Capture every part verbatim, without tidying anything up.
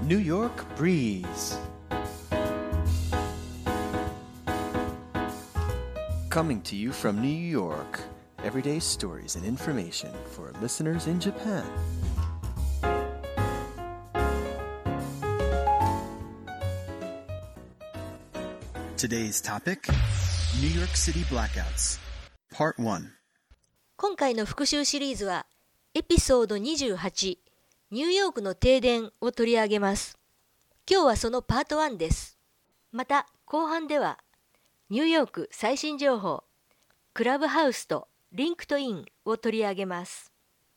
New York Breeze. Coming to you from New York, everyday stories and information for listeners in Japan. Today's topic, New York City Blackouts, Part one. 今回の復習シリーズはエピソードにじゅうはち、ニューヨークの停電を取り上げます。今日はそのパートワンです。また後半ではニューヨーク最新情報、クラブハウスとリンクトインを取り上げます。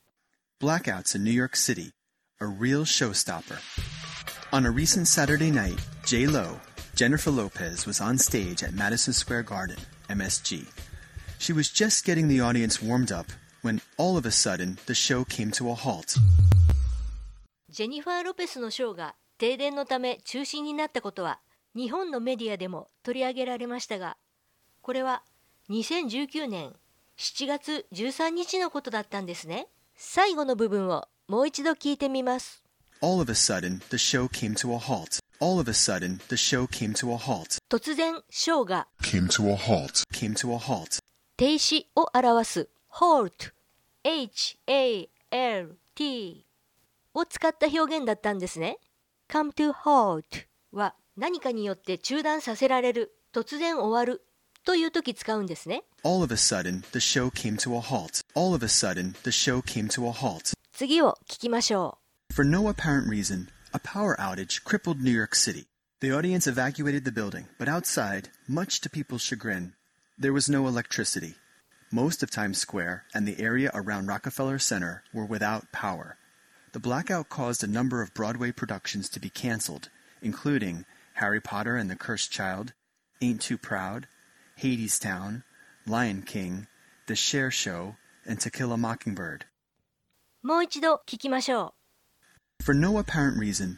Blackouts in New York City, a real showstopper. On a recent Saturday night, J-Lo, Jennifer Lopez, was on stage at Madison Square Garden, M S G. She was just getting the audience warmed up when all of a sudden the show came to a halt. ジェニファー・ロペスのショーが停電のため中止になったことは日本のメディアでも取り上げられましたが、これはにせんじゅうきゅうねんしちがつじゅうさんにちのことだったんですね。最後の部分をもう一度聞いてみます。 All of a sudden, the show came to a halt. All of a sudden, the show came to a halt. 突然、ショーが came to a halt. Came to a halt. 停止を表す halt、エイチ エー エル ティー を使った表現だったんですね。come to halt は何かによって中断させられる、突然終わるという時使うんですね。 All of a sudden, the show came to a halt. All of a sudden, the show came to a halt. 次を聞きましょう。 For no apparent reason, a power outage crippled New York City. The audience evacuated the building, but outside, much to people's chagrin, there was no electricity. Most of Times Square and the area around Rockefeller Center were without power. The blackout caused a number of Broadway productions to be canceled, including Harry Potter and the Cursed Child, Ain't Too Proud, Hadestown, Lion King, The Cher Show, and To Kill a Mockingbird. もう一度聞きましょう。 For no apparent reason.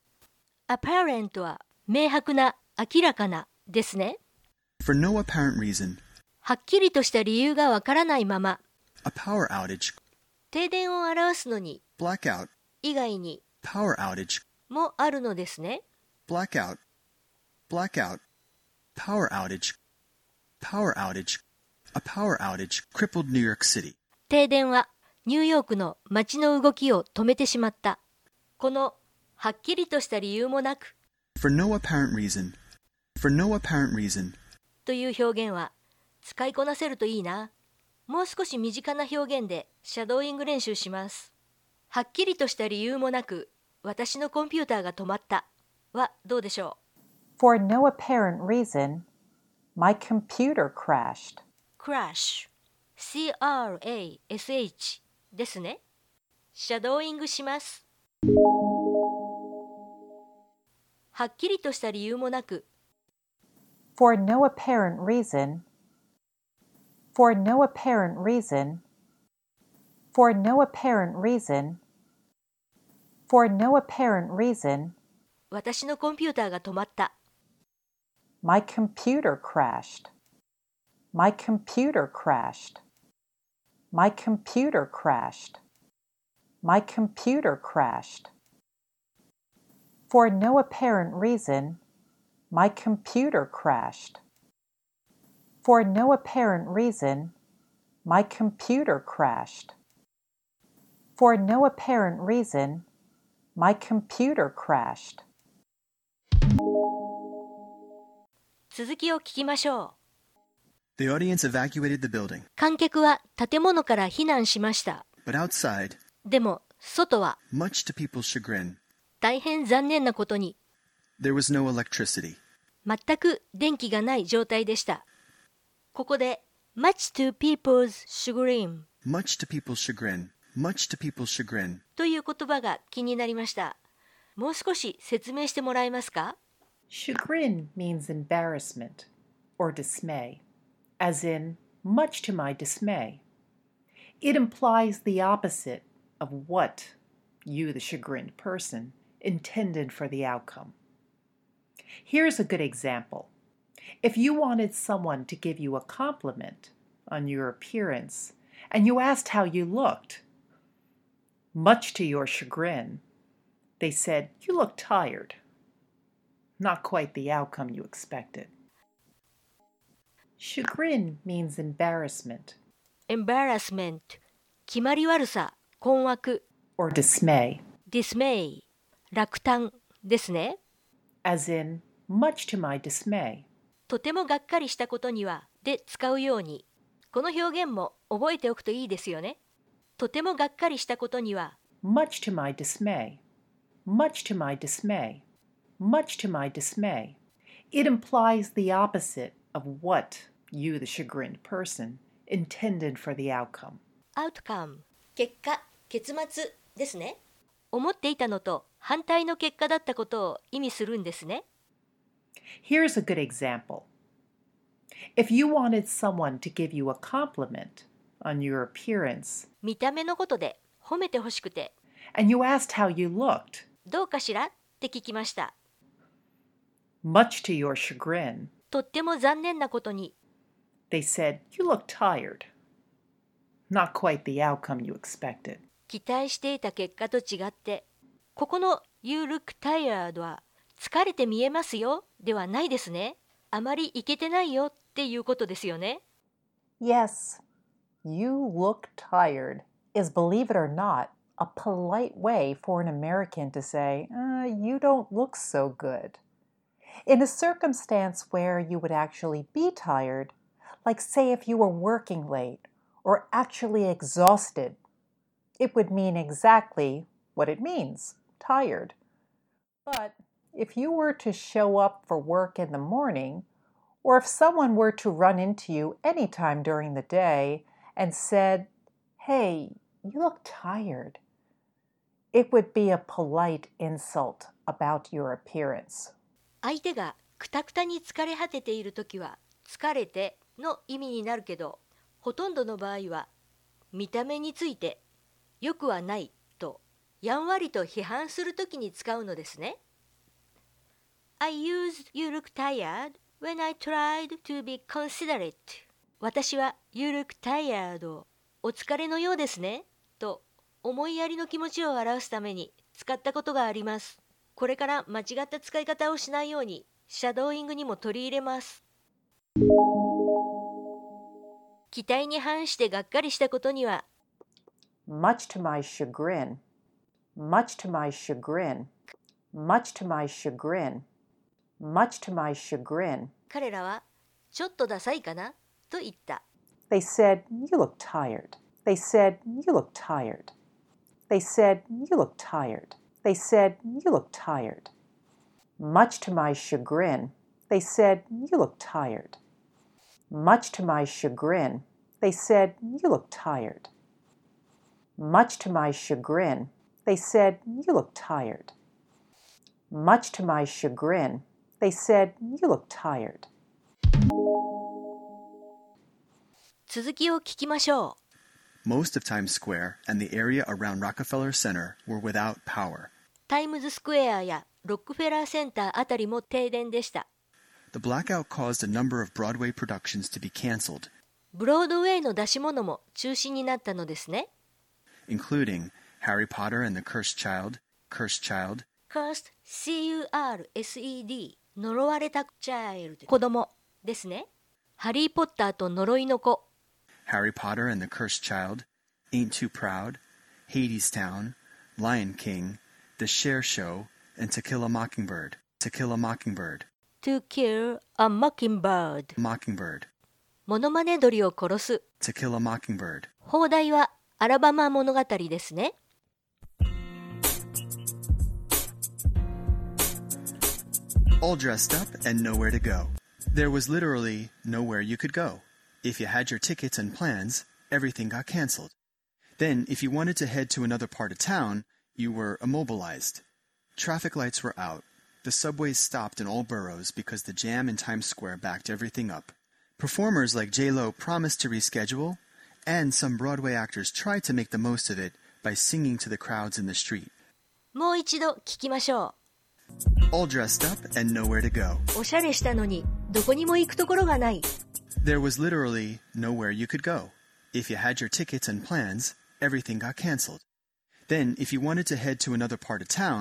apparent は明白な、明らかなですね。 For no apparent reason. はっきりとした理由がわからないまま。 A power outage. 停電を表すのに Blackout. 以外に Power outage. もあるのですね。 Blackout. Blackout. Power outage. Power outage. A power outage crippled New York City. 停電はニューヨークの街の動きを止めてしまった。このはっきりとした理由もなく For no apparent reason. For no apparent reason. という表現は使いこなせるといいな。もう少し身近な表現でシャドーイング練習します。はっきりとした理由もなく私のコンピューターが止まったはどうでしょう。 For no apparent reason, my computer crashed. crash シーアールエーエスエイチ ですね。シャドーイングします。はっきりとした理由もなく For no apparent reason, for no apparent reason, for no apparent reason, for no apparent reason, 私のコンピューターが止まった。 my computer crashed. My computer crashed. My computer crashed. My computer crashed. For no apparent reason, my computer crashed. For no apparent reason, my computer crashed. For no apparent reason, my computer crashed. 続きを聞きましょう。 The audience evacuated the building. 観客は建物から避難しました。 But outside, でも外は much to people's chagrin, 大変残念なことに there was no electricity. 全く電気がない状態でした。ここで much to people's chagrin Much to people's chagrin. Much to people's chagrin. という言葉が気になりました。もう少し説明してもらえますか？ Chagrin means embarrassment or dismay, as in, much to my dismay. It implies the opposite of what you, the chagrined person, intended for the outcome. Here's a good example. If you wanted someone to give you a compliment on your appearance and you asked how you looked, much to your chagrin, They said, "You look tired." Not quite the outcome you expected. Chagrin means embarrassment embarrassment 決まり悪さ、困惑。 or dismay, dismay 落胆ですね。 as in, much to my dismay. とてもがっかりしたことにはで使うように。この表現も覚えておくといいですよね。とてもがっかりしたことには Much to my dismay. Much to my dismay. Much to my dismay. It implies the opposite of what you, the chagrined person, intended for the outcome. outcome 結果、結末ですね。思っていたのと反対の結果だったことを意味するんですね。 Here's a good example. If you wanted someone to give you a compliment on your appearance, 見た目のことで褒めてほしくて、 and you asked how you looked, どうかしらって聞きました。 much to your chagrin, とっても残念なことに、 they said, "You look tired." Not quite the outcome you expected. 期待していた結果と違って、ここの You look tired は疲れて見えますよではないですね。あまりいけてないよっていうことですよね。 Yes, you look tired is, believe it or not, a polite way for an American to say, uh, you don't look so good. In a circumstance where you would actually be tired, like say if you were working late or actually exhausted, it would mean exactly what it means, tired. But if you were to show up for work in the morning, or if someone were to run into you anytime during the day and said, "Hey, you look tired," it would be a polite insult about your appearance. 相手がくたくたに疲れ果てているときは疲れての意味になるけど、ほとんどの場合は見た目についてよくはないとやんわりと批判するときに使うのですね。I used you look tired when I tried to be considerate. 私は You look tired をお疲れのようですねと思いやりの気持ちを表すために使ったことがあります。これから間違った使い方をしないようにシャドーイングにも取り入れます。期待に反してがっかりしたことには Much to my chagrin, much to my chagrin, much to my chagrin, much to my chagrin. 彼らはちょっとダサいかなと言った。 They said, "You look tired." They said, "You look tired." They said, "You look tired." They said, "You look tired." Much to my chagrin, they said, "You look tired." Much to my chagrin, they said, "You look tired." Much to my chagrin, they said, "You look tired." Much to my chagrin, they said, "You look tired." 続きを聞きましょう。 Most of Times Square and the area around Rockefeller Center were without power. タイムズスクエアやロックフェラーセンターあたりも停電でした。 The blackout caused a number of Broadway productions to be canceled, ブロードウェイの出し物も中止になったのですね。 including Harry Potter and the Cursed Child, Cursed Child, Cursed, C U R S E D 呪われたチャイルド、子供ですね。ハリー・ポッターと呪いの子、 Harry Potter and the Cursed Child, Ain't Too Proud, Hadestown, Lion King, The Cher Show, and To Kill a Mockingbird. To Kill a Mockingbird. To Kill a Mockingbird Mockingbird. モノマネ鳥を殺す。 To Kill a Mockingbird. 放題はアラバマ物語ですね。 All dressed up and nowhere to go. There was literally nowhere you could go. If you had your tickets and plans, everything got canceled. Then, if you wanted to head to another part of town, you were immobilized. Traffic lights were out. The subways stopped in all boroughs because the jam in Times Square backed everything up. Performers like J-Lo promised to reschedule, and some Broadway actors tried to make the most of it by singing to the crowds in the street. もう一度聞きましょ All dressed up and nowhere to go. う。おしゃれしたのにどこにも行くところがない。 There was literally nowhere you could go. If you had your tickets and plans, everything got canceled. Then, if you wanted to head to another part of town,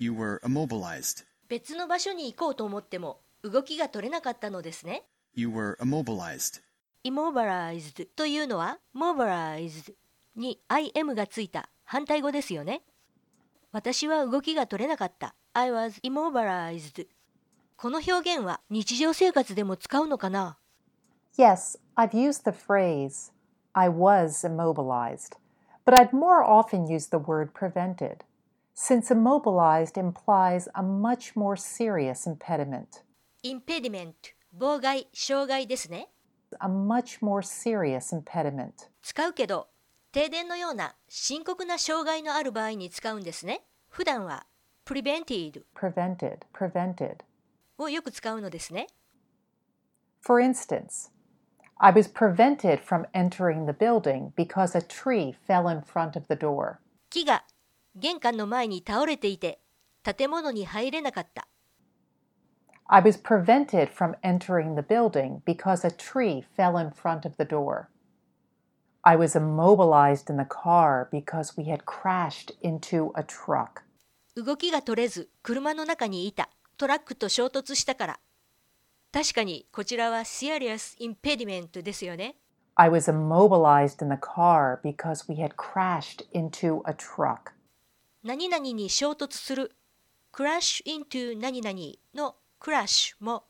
You were immobilized. 別の場所に行こうと思っても動きが取れなかったのですね。 You were immobilized. immobilized というのは mobilized に im がついた反対語ですよね。私は動きが取れなかった。I was immobilized. この表現は日常生活でも使うのかな？ Yes, I've used the phrase, I was immobilized, but I'd more often use the word prevented, since immobilized implies a much more serious impediment. impediment 妨害、障害ですね。 A much more serious impediment. 使うけど停電のような深刻な障害のある場合に使うんですね。普段は prevented Prevented, prevented. をよく使うのですね。 For instance, I was prevented from entering the building because a tree fell in front of the door. 木が玄関の前に倒れていて建物に入れなかった。 I was prevented from entering the building because a tree fell in front of the door. I was immobilized in the car because we had crashed into a truck. 動きが取れず車の中にいた。トラックと衝突したから。確かにこちらは serious impediment ですよね。 I was immobilized in the car because we had crashed into a truck. 何々に衝突する crash into 何々の crash も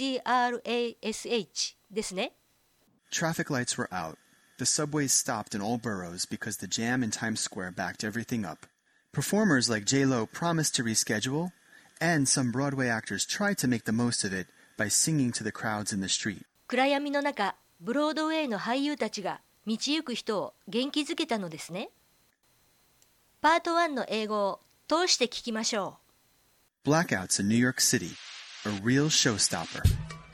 crash ですね。 Traffic lights were out. The subways stopped in all boroughs because the jam in Times Square backed everything up. Performers like J-Lo promised to reschedule, and some Broadway actors tried to make the most of it by singing to the crowds in the street. 暗闇の中、ブロードウェイの俳優たちが道行く人を元気づけたのですね。パートワンの英語を通して聞きましょう。Blackouts in New York City, a real showstopper.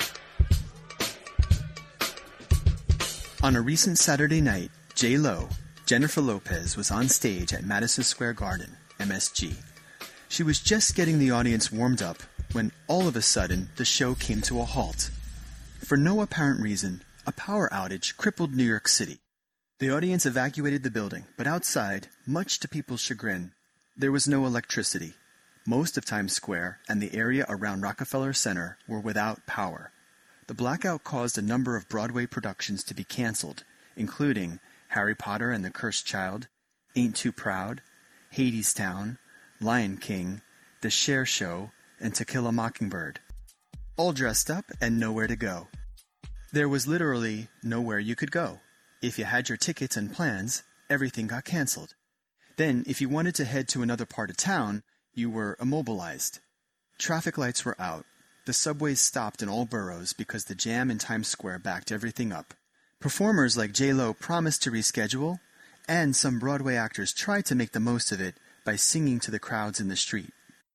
On a recent Saturday night, J-Lo, Jennifer Lopez, was on stage at Madison Square Garden, M S G. She was just getting the audience warmed up when all of a sudden the show came to a halt. For no apparent reason, a power outage crippled New York City. The audience evacuated the building, but outside, much to people's chagrin, there was no electricity. Most of Times Square and the area around Rockefeller Center were without power. The blackout caused a number of Broadway productions to be canceled, including Harry Potter and the Cursed Child, Ain't Too Proud, Hadestown, Lion King, The Cher Show, and To Kill a Mockingbird. All dressed up and nowhere to go. There was literally nowhere you could go. If you had your tickets and plans, everything got canceled. Then, if you wanted to head to another part of town, you were immobilized. Traffic lights were out. The subways stopped in all boroughs because the jam in Times Square backed everything up. Performers like J-Lo promised to reschedule, and some Broadway actors tried to make the most of it by singing to the crowds in the street.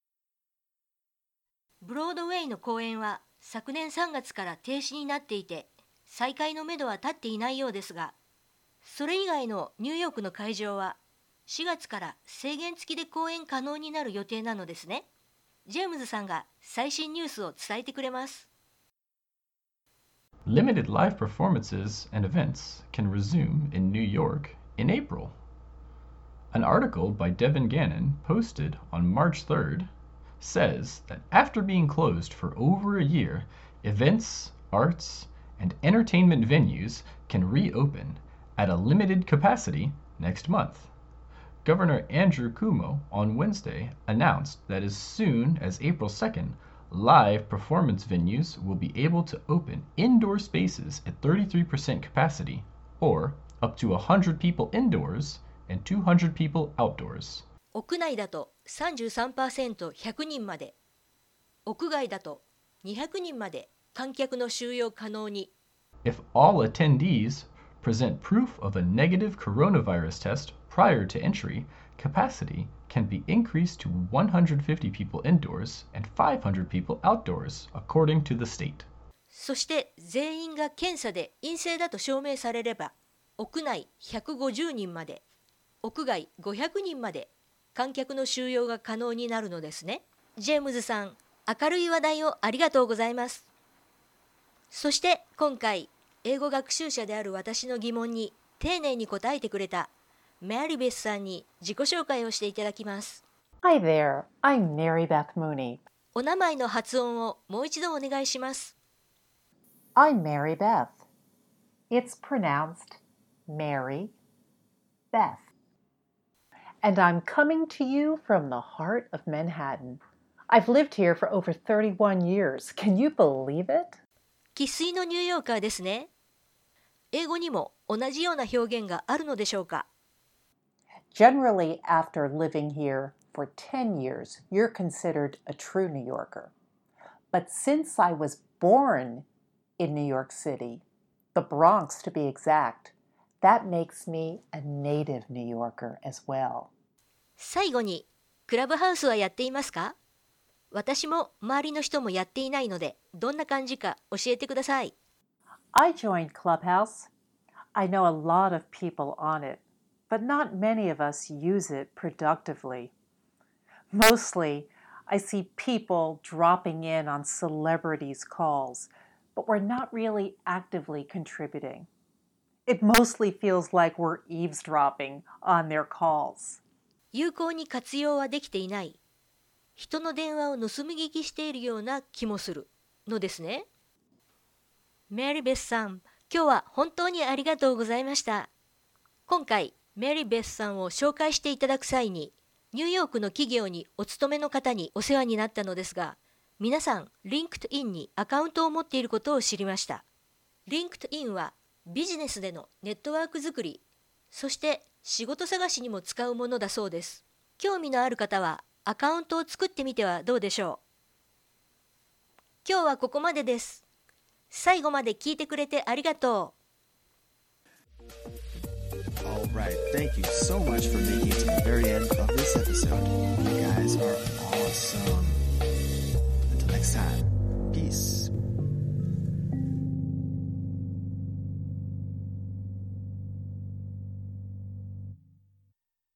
ブロードウェイの公演は昨年さんがつから停止になっていて、再開のめどは立っていないようですが、それ以外のニューヨークの会場はしがつから制限付きで公演可能になる予定なのですね。ジェームズさんが最新ニュースを伝えてくれます。 Limited live performances and events can resume in New York in April. An article by Devin Gannon posted on March third says that after being closed for over a year, events, arts, and entertainment venues can reopen at a limited capacity next month. Governor Andrew Cuomo on Wednesday announced that as soon as April second, live performance venues will be able to open indoor spaces at thirty-three percent capacity, or up to one hundred people indoors and two hundred people outdoors. 屋内だと さんじゅうさんパーセントひゃくにんまで、屋外だとにひゃくにんまで観客の収容可能に。 If all attendees present proof of a negative coronavirus test prior to entry, capacity can be increased to one hundred fifty people indoors and five hundred people outdoors, according to the state. そして全員が検査で陰性だと証明されれば、屋内ひゃくごじゅうにんまで、屋外ごひゃくにんまで観客の収容が可能になるのですね。ジェームズさん、明るい話題をありがとうございます。そして今回、英語学習者である私の疑問に丁寧に答えてくれたメアリベスさんに自己紹介をしていただきます。 Hi there, I'm Mary Beth Mooney. お名前の発音をもう一度お願いします。 I'm Mary Beth. It's pronounced Mary Beth. And I'm coming to you from the heart of Manhattan. I've lived here for over thirty-one years. Can you believe it? 生粋のニューヨーカーですね。英語にも同じような表現があるのでしょうか？ Generally, after living here for ten years, you're considered a true New Yorker. But since I was born in New York City, the Bronx to be exact, that makes me a native New Yorker as well. 最後に、クラブハウスはやっていますか？私も周りの人もやっていないので、どんな感じか教えてください。 I joined Clubhouse. I know a lot of people on it, but not many of us use it productively. Mostly, I see people dropping in on celebrities' calls, but we're not really actively contributing. It mostly feels like we're eavesdropping on their calls. 有効に活用はできていない。人の電話を盗み聞きしているような気もするのですね。メリーベスさん、今日は本当にありがとうございました。今回、メリーベスさんを紹介していただく際に、ニューヨークの企業にお勤めの方にお世話になったのですが、皆さん、リンクトインにアカウントを持っていることを知りました。リンクトインはビジネスでのネットワーク作り、そして仕事探しにも使うものだそうです。興味のある方はアカウントを作ってみてはどうでしょう。今日はここまでです。最後まで聞いてくれてありがとう。 All right, thank you so much for making it to the very end of this episode. You guys are awesome.